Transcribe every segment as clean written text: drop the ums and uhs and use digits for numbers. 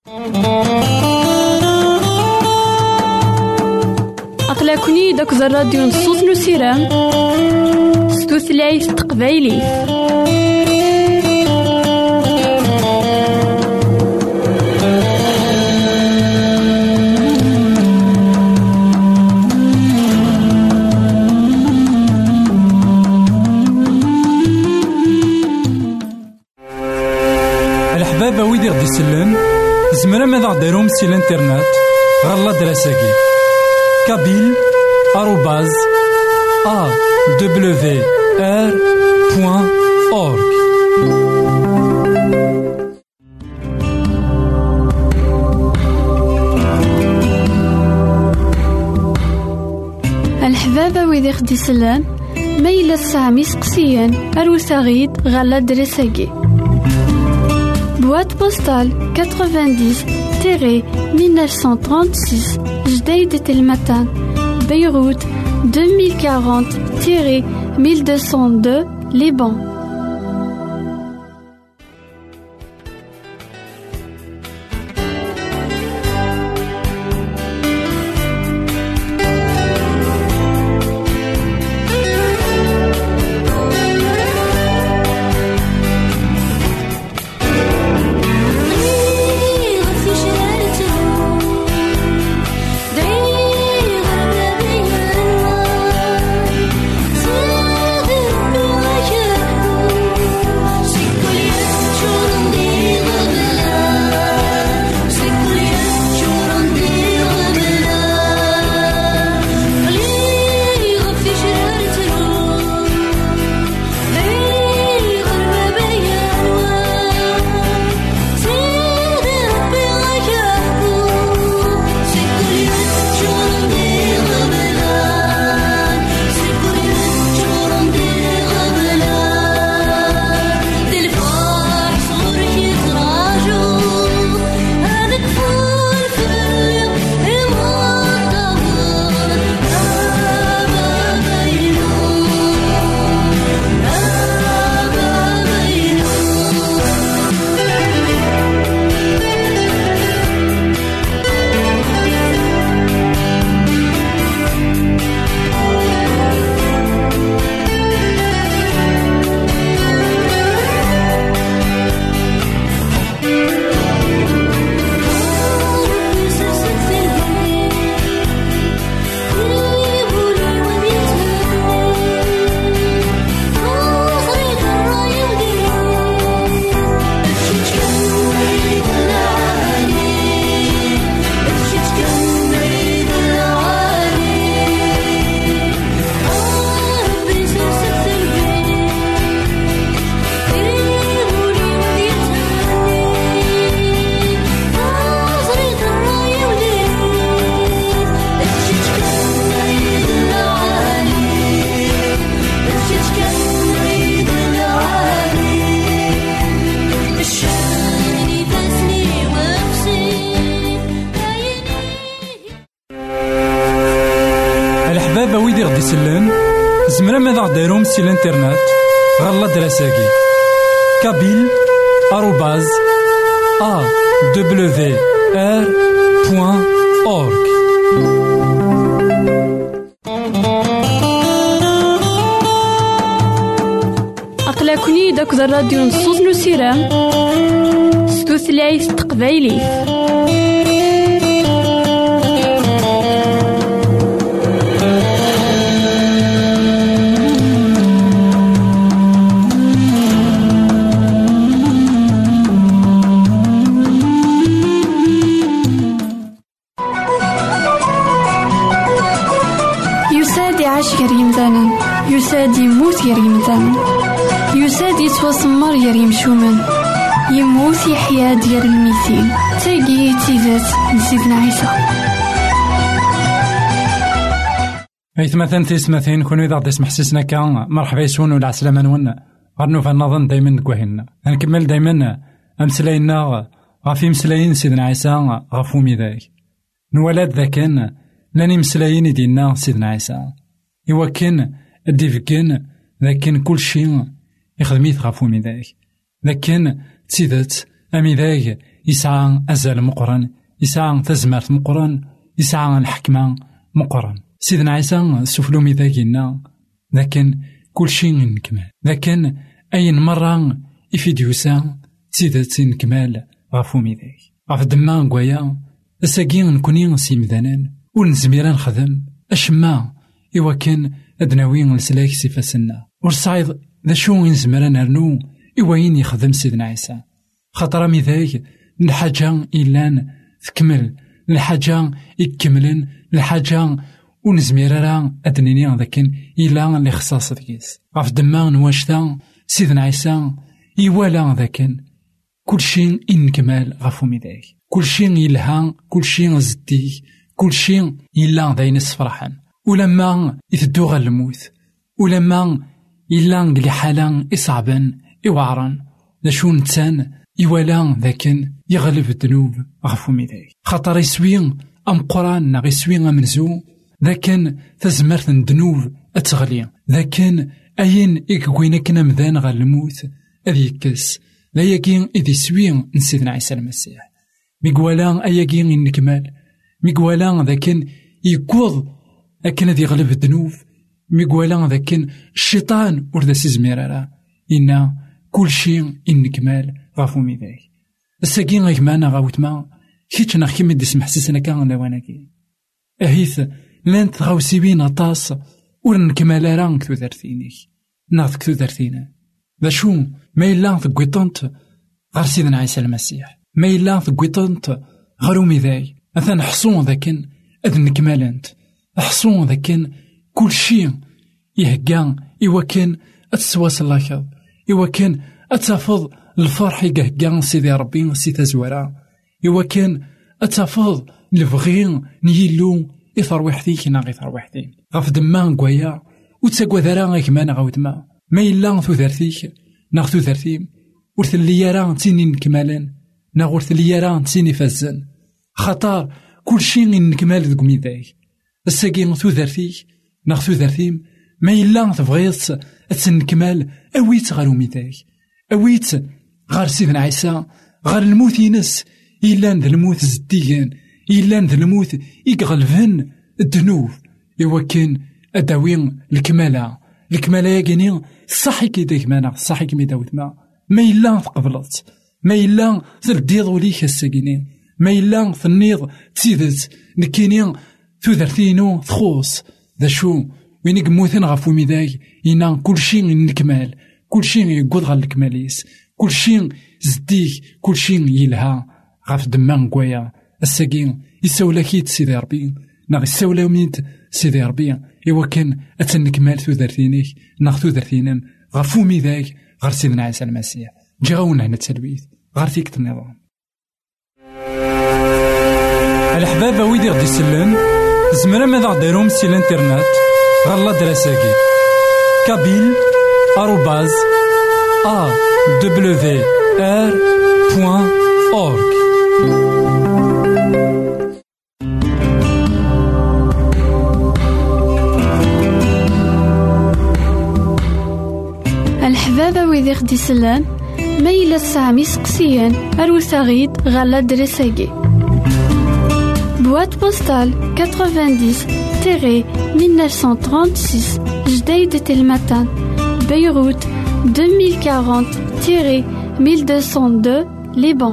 أقلكني داك الراديو نصوص نسيران ستوثلايف تقبايلي. الحبابة ويدي غدي يسلم زمرا ماذا غديرهم سي الانترنت غالا دراساكي كابيل @awr.org. الحبابة ويدي غدي يسلم ميلا سامي سقسيان أروساغيد غالا دراساكي boîte postale 90-1936 Jdeïd Telmatan Beyrouth 2040-1202 Liban. الحبابة ويدي غدي يسلم زمرا ماذا غديرهم سي الانترنت غالا دراساكي كابيل @awr.org. أقلكني داك الراديو نصوص نسيران ستوثلايف تقبايلي. يساد يموت يا ريمدان يساد يتوسمر يا ريمشومن يموت يحيا ديال الميتين تاقي تيزات نسيدنا عيسى مثلا تيسمثين كونو إذا غدي يسمح سيسنا كان مرحبا يسون ولا عسلامة نون غنو فنظن دايما نكوهنا نكمل دايما أمسلاينا غافي مسلاين سيدنا عيسى غفو ميداك نولاد ذاكن لاني مسلاين دينا سيدنا عيسى إوا كان الديفكان ذاكن كل شيء يخدميت غفو ميداك لكن تسيدت أميداك يسعى أزال مقرن، يسعى تزمرت مقرن، يسعى الحكمة مقرن. سيدنا عيسى سفلو ميذاكينا لكن كل شيء نكمل، لكن أين مرة إفيديوسا تزيدت نكمل غافو ميذاك غاف دما قويا أساقين نكوني نسيمدانان ونزميرا نخدم أشما إوا كان أدناوين نسلاك سيفاسنا ورصايد ذا شو نزمرا نرنو إواين يخدم سيدنا عيسى. خاطر ميذاك الحاجة إلان تكمل، الحاجة يكملن، الحاجة ونزميرا أدنيني لكن إلا اللي خصاص ديس غاف دما نواشتا سيدنا عيسى يوالا ذاكن كل شيء إنكمال غافو ميداك، كل شيء يلها، كل شيء زديه، كل شيء إلا داين فرحان. ولما يثدو غا الموت، ولما إلا نقلي حالا إصعبا إوعرا لشو نتسان يوالا ذاكن يغلب الذنوب غافو ميداك. خاطر يسوين أم قران ناغ يسوين أمنزو ذاكن تزمرت الذنوب أتغلي، ذاكن أين إكوين كنا مذان غا الموت أذي كس لا يكين إذي سوين نسيدنا عيسى المسيح. ميقوالا أياكين إنكمال، ميقوالا ذاكن يكوض أكن ذي غلب الذنوب، ميقوالا ذاكن الشيطان وردا سيزميرارا إنا كل شيء إنكمال غافو ميذاك. الساقين غيكمانا غاوتما كيتش ناخي مدي سمح سيسنا كان لواناكي أهيث لان تغاوسيبين أطاس ورنكمالا رانك ذو ذرثينيك ناغذك ذو ذرثينا ذا شو ما إلا ثقويطنت غير سيدنا عيسى المسيح، ما إلا ثقويطنت غير ميذاي أثان حصون ذاكن أذن نكمالنت حصون ذاكن كل شيء يهقان إوا كان أتسواس اللاكض، إوا كان أتفض الفرح يقهقان سيدي ربي سيدا زوارا، إوا كان أتفض الفغين نيلو إثر وحديك نا غيثر وحدين غاف دمان قويا وتساقوا ذرا غيكمان غاوتما ما إلا ثو ذرثيك ناغ ثو ذرثيم ورثلي يرا تيني نكمالن ناغ ورثلي يرا تيني فازن. خطار كل شيء نكمال ذوك ميداك الساقين ثو ذرثيك ناغ ثو ذرثيم ما إلا تبغيت أتنكمال أويت غارو ميداك، أويت غار سيدنا عيسى غار الموت ينس إلا ذا الموت زديان، إلا ذا الموت يقغلفن الذنوب إوا كان أداوين الكمالة ياكيني صحي كيداك مانا صحي كمي داوت ما إلا تقبلت، ما إلا ترديض وليك الساقينين، ما إلا ثنيض تسيدت نكيني ثوذرتينو تخوص ذا شو وين يقموثن غافو ميداك إنا كل شيء نكمال، كل شيء يقود غا الكماليس، كل شيء زديك، كل شيء يلها غاف دمان قويا الساقين يساولا كيت سيدي ربي ناغ يساولا ميت سيدي ربي إوا كان أتنكمال ثوذرتينيك ناغ ثوذرتينم غافو ميداك غير سيدنا عيسى المسيح جاونا هنا التلبيث غير فيك النظام. الحبابة ويدي غدي يسلم زمرا ماذا غديرهم سي الانترنت غالا دراساكي كابيل آروباز awr.org. الحبابة ويدي غدي يسلم ما إلا سامي سقسيان أروساغيد غالا دراساكي Boîte postale 90-1936 Jdeï de Telmatan Beyrouth 2040-1202 Liban.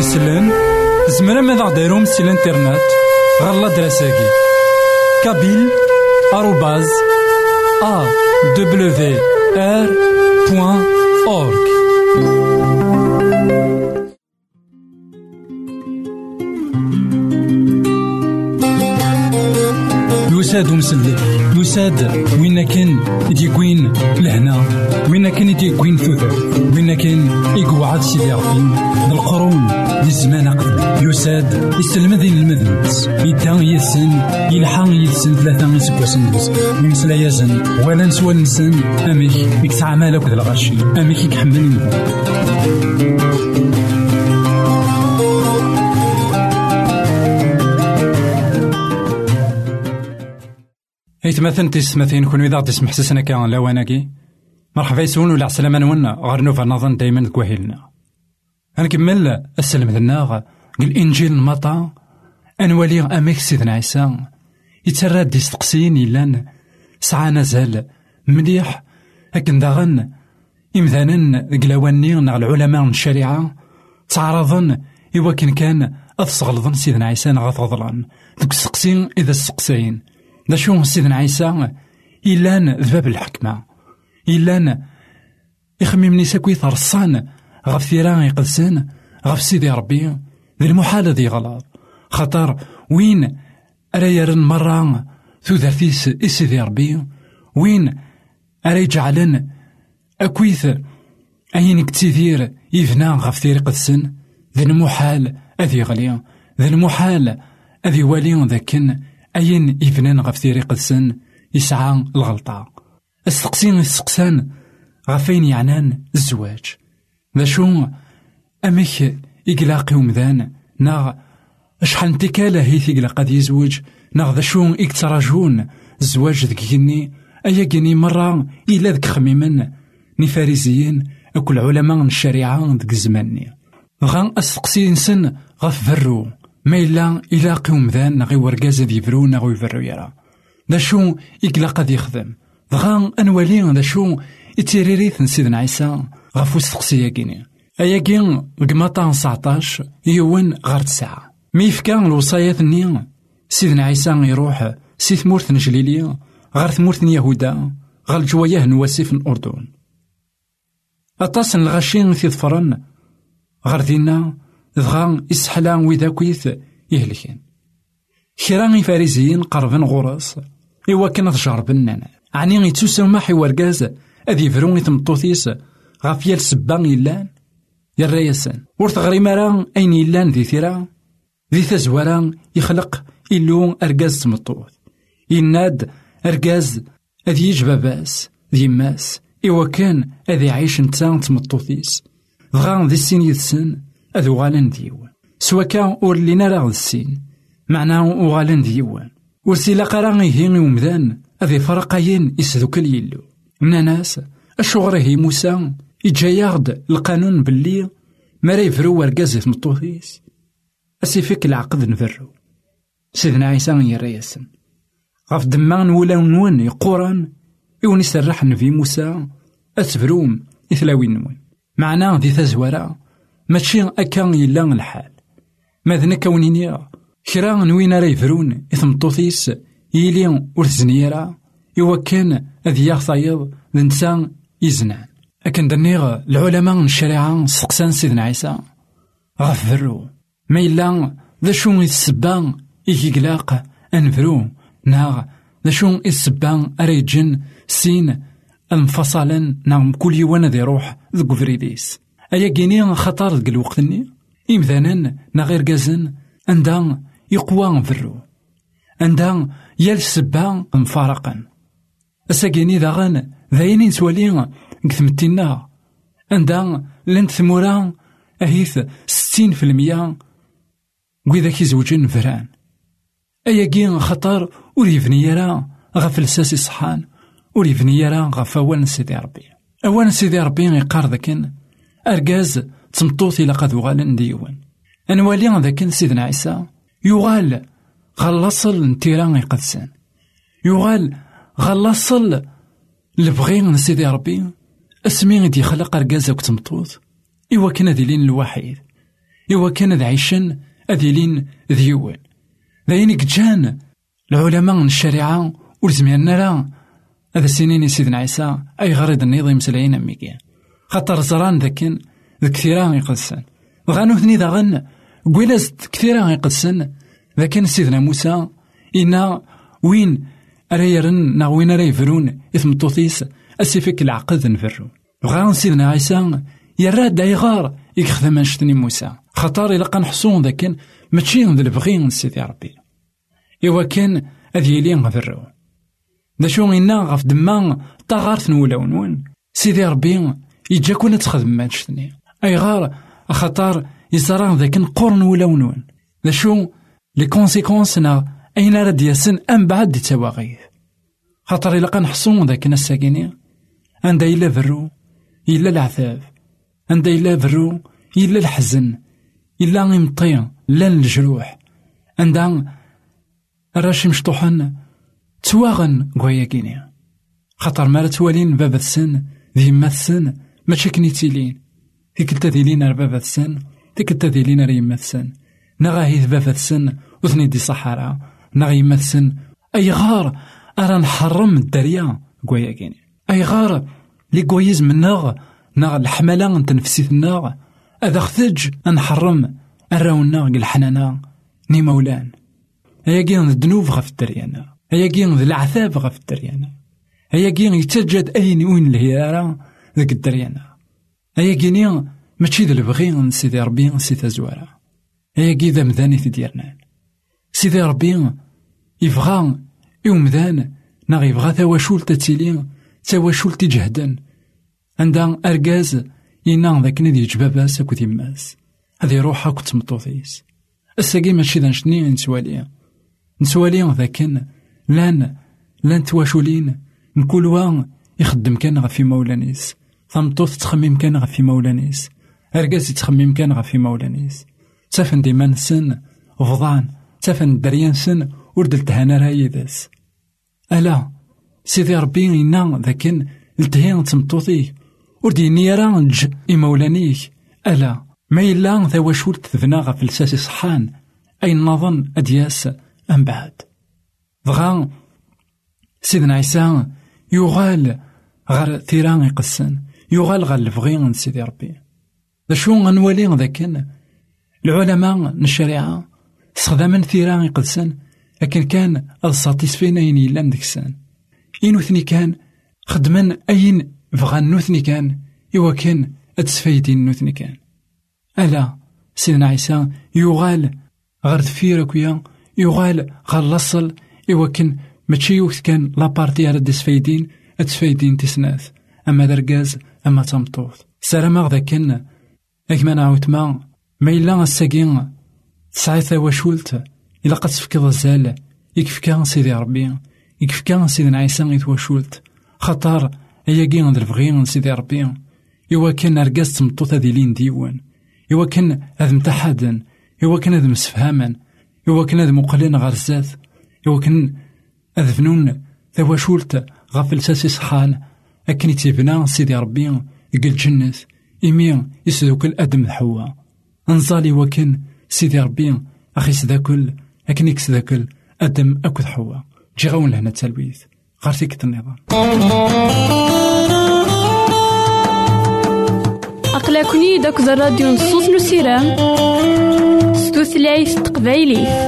يسلم زمرا ماذا غديرهم سي الانترنت غالا دراساكي kabyle@awr.org. يساد ومسلك يساد وين كان يديكوين لهنا وين كان يديكوين ثوثر وين كان يقعد سيدي ربي بالقرون للزمان قبل يساد يسلم ذي المذنبس يدان يسن يلحق يسن 3 يسكوسن يمسلا يزن ولا نسوى نسن اميك يكسع مالك ذا الغشي اميك يحمل مثلا تسمثين كون إذا تسمح سسنا كان لواناكي مرحبا يسون ولا عسلامة نونا غير نوفا نظن دايما كواهلنا هنكمل السلم ذناغ الإنجيل المطا أنوالي أميك سيدنا عيسى يتراد ديستقسين إلان سعى نزال مليح هكذا داغن إمذانا قلاواني نغ العلماء من الشريعة تعرضن إواكن كان أثصغلظن سيدنا عيسى غثغضلان ذوك السقسين إذا السقسين دا شو سيدنا عيسى إلان ذباب الحكمة إلان يخمم نيساكوي ثرصان غف ثيران يقدسان غف سيدي ربي ذي المحال ذي غلط خطر وين أريرن مرة ثو ذاتيس سيدي ربي وين أري جعلن أكويث أين كتير يفنى غف ثير قدسان ذي المحال أذي غلي ذي المحال أذي والي ذاكن أين يفنان غف ثيري قدسن يسعى الغلطة السقسين السقسان غفين يعنان الزواج ذا شو أميك إقلاقي ومذان ناغ أشحال انتكالة هيث إقلاق قد يزوج ناغ ذا شو إكتراجون الزواج ذكيني أيا كيني مرة إلا ذك خميمن نفاريزيين أكل علماء الشريعة ذك الزماني غان السقسين سن غف فرو ما إلا قيوم ذان نغي ورقاز ذي فرو نغي يفرو يرى ذا شو إقلاق ذي يخدم غان أنوالي ذا شو إتيريريث سيدنا عيسى غفو السقسية كيني أيا كين قماطا 19 يوان غار 9 ميفكان الوصايات النية سيدنا عيسى يروح سي ثمورث نجليلية غار ثمورث يهودا غار الجواياه نواسي في الأردن أطاس الغاشين في ظفرن غار دينا ذغان إسحلان وإذا كويث يهلكين كران فاريزيين قربن غراس إوا كان تجربن عني يتسوسو ما حوار كاز أذي فرون يتمطوثيس غاف يال سبان يلان يالرياسان ورث غريمارا أين يلان ذي ثيرا ذي ثزوارا يخلق إلو أرقاز تمطوث يناد أرقاز أذي يجباباس ذي ماس إوا كان أذي عيش نتان تمطوثيس ذغان ذي السين يدسن أذو غالن ديوان سوا كان أورلينا راه السين معناه أغالن ديوان ورسيلا قراني هيني ومذان أذي فرقاين يسذوك اليلو من ناس الشغره موسى يجايغد القانون باللي ما يفرو ورقازي في مطوثيس أسيفك العقد نفرو سيدنا عيسى يرياسن غاف دمان ولا نون يقوران يوني سرحن في موسى أتفروم إثلاوين نون معناه ذي ثزورا ماشي أكان يلان الحال ماذا كونيني كرا نوين راه يفرون إثمطوثيس يلي ورثزنيرا إوا كان أذي يغطايض الإنسان يزنان أكن دنيغ العلماء من الشريعة سقسان سيدنا عيسى غفرو ما إلا ذا شو السبان إيقلاق أنفرو ناغ ذا شو السبان أريجن سين انفصلا نعم كل يوانا ذي روح ذو فريديس أيا كيني خطر ذك الوقت-ني إمثالا نغير كازن عندها يقوى فرو عندها يال السبا مفارقا أساكيني داغن ذاينين سوالي كثمتينا عندها لنت ثمورا أهيث 60% وإذا كيزوجين فران أيا كين خطر وريفني يرا غفلساسي صحان وريفني يرا غفوان سيدي ربي أولا سيدي ربي يقار ذاكن أرقاز تمطوطي لقد وغالن ديوان أنوالي ذاكن سيدنا عيسى يغال غلاصل نتيران يقدسان يغال غلاصل لبغين سيدي ربي اسمي دي خلق أرقاز وكتمطوط إوا كنا ديلين الوحيد إوا كان ذا عيشن أذيلين ذيوان ذاين كجان العلماء من الشريعة ولزمينا لا هذا السنين سيدنا عيسى أي غريض النظام مسلعين أميكيا خاطر زران ذاكن كثيرا يقدسن وغانو ثني ذا غن قويلازت كثيرا يقدسن ذاكن سيدنا موسى إنا وين أريرن وين أريفرون إثم الطوطيس أسيفك العقد نفرو وغان سيدنا عيسى يراد أيغار يخدم أنشتني موسى خطر إلا نحصون ذاكن ماشي ذا البغي سيدي ربي إوا كان أذيلي نغفرو دا شو إنا غف دما طاغارت نولاونون سيدي ربي يجاكونا تخدم أنشتني أيغار خطر يزران ذاك نقرن ولاونون دا شو لي كونسيكونسنا أين راد ياسن أم بعد دي تواغيث خاطر إلا نحصون ذاك الساكيني عندها إلا برو إلا العذاب عندها إلا برو إلا الحزن إلا غيمطيا لا الجروح عندها الراشي مشطوحن تواغن قويا كينيا خاطر مالا توالين بابا السن ذي ما السن ماشي كنيتيلين تيكلتا ذيلين بابا السن تيكلتا ذيلين ريما السن نغاهيث بابا السن وثني دي صحراء نغيما السن أي غار أرى نحرم الدريا قويا كينيا أي غار لي قويز من ناغ الحملة نتنفسيت الناغ أذا خثج نحرم أراونا الحنانا ني مولان هيا كين الذنوب غف الدريانا هيا كين العذاب غف الدريانا هيا كين يتجد أين وين الهيارة ذاك الدريانا هيا كين ماشي ذا البغي سيدي ربي سيدي زوارا هيا كي ذا مذاني تديرنا سيدي ربي يبغى يومذان ناغ يبغى ثواشول تتيلين ثواشول تجهدن عندها أرجاز ينام ذاك ندي جباباس أكو ثماس هذه روحها كنت مطوطيس الساقي ماشي ذا نشني نسوالي ذاكن لان تواشولين نقول وان يخدم كان غفي مولانيس ثمطوط تخمم كان غفي مولانيس أرجاز يتخمم كان غفي مولانيس تافن ديما نسن فضان تافن دريان سن وردل تهانا رايداس ألا سيدي ربي ينام ذاكن التهين تمطوطي ورديني رانج إمولانيك ألا ما إلا ذا وشول تذناغ في الساسي صحان أي نظن أدياس أم بعد ضغان سيدنا عيسى يغال غير ثيران يقسن يغال غير الفغين سيدي ربي ذا شو غنولي ذاكن العلماء الشريعة استخداما ثيران يقسن لكن كان الساتيسفينا يني لان ديكسان إنو ثني كان خدمان أين فغان نوثني كان إوا كان أتسفايدين نوثني كان ألا سيدنا عيسى يغال غير دفيرك ويا يغال غير لصل إوا كان ماشي وقت كان لابارتي على دسفايدين أتسفايدين تسناث أما درقاز أما تمطوط سلام غدا كان أكما نعاود ما إلا الساقين تسعيث واشولت إلا قد تفكض الزال يكفكا سيدي ربي يكفكا سيدنا عيسى يتواشولت خطر أيا كين ذا الفغيين سيدي ربي إوا كان أرقاز تمطوط هذي لين ديوان إوا كان هذا متحدا إوا كان هذا مسفهاما إوا كان هذا مقلين غير الزات إوا كان هذا فنون ذا واشولت غافل ساسي صحان أكن يتبنا سيدي ربي يقل جنة إمي يسدوك الأدم حوا انزالي وكن سيدي ربي أخي سداكل أكن يكسداكل أدم أكد حوا جي غاون لهنا التلويث غارتيك النظام أقلكني داك الراديو نصوص نسيران ستوثلايف تقبايلي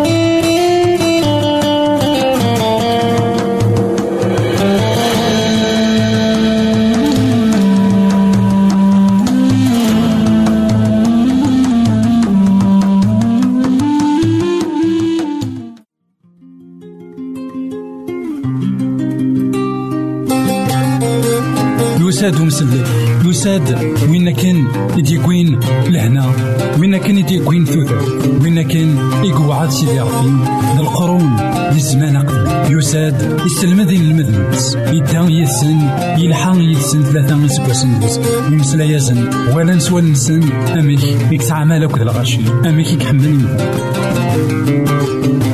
يساد ومسلك يساد وين كان يديكوين لهنا وين كان يديكوين ثوثر وين كان يقعد سيدي ربي للقرون للزمان قبل يساد يسلم ذي المذنبس يدان يسن يلحق يسن ثلاثة يسكوسن يمسلا يزن ولا نسوى نسن أميك يكتعمل أكد الغاشي أميك يكحمل